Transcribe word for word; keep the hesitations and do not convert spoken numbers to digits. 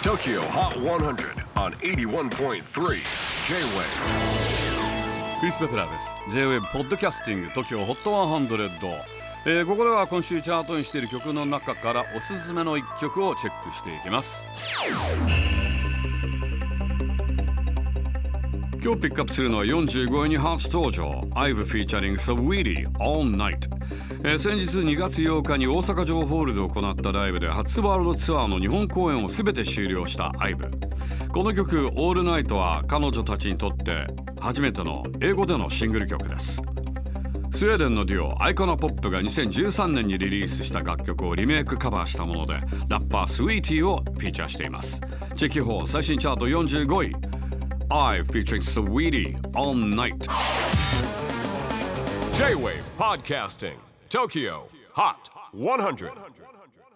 Tokyo Hot one hundred on エイティワンポイントスリー J-Wave。 クリス・ベプラーです。 J-Wave ポッドキャスティング TOKYO ホットひゃく、えー、ここでは今週チャートにしている曲の中からおすすめのいっきょくをチェックしていきます。今日ピックアップするのはよんじゅうごいに初登場 アイブ featuring Saweetie All Night、えー、先日にがつようかに大阪城ホールで行ったライブで初ワールドツアーの日本公演を全て終了した アイブ。 この曲 All Night は彼女たちにとって初めての英語でのシングル曲です。スウェーデンのデュオアイコナポップがにせんじゅうさんねんにリリースした楽曲をリメイクカバーしたもので、ラッパー Saweetie をフィーチャーしています。チェキホー最新チャートよんじゅうごい、I featuring Saweetie All Night。 J-Wave Podcasting Tokyo Hot one hundred。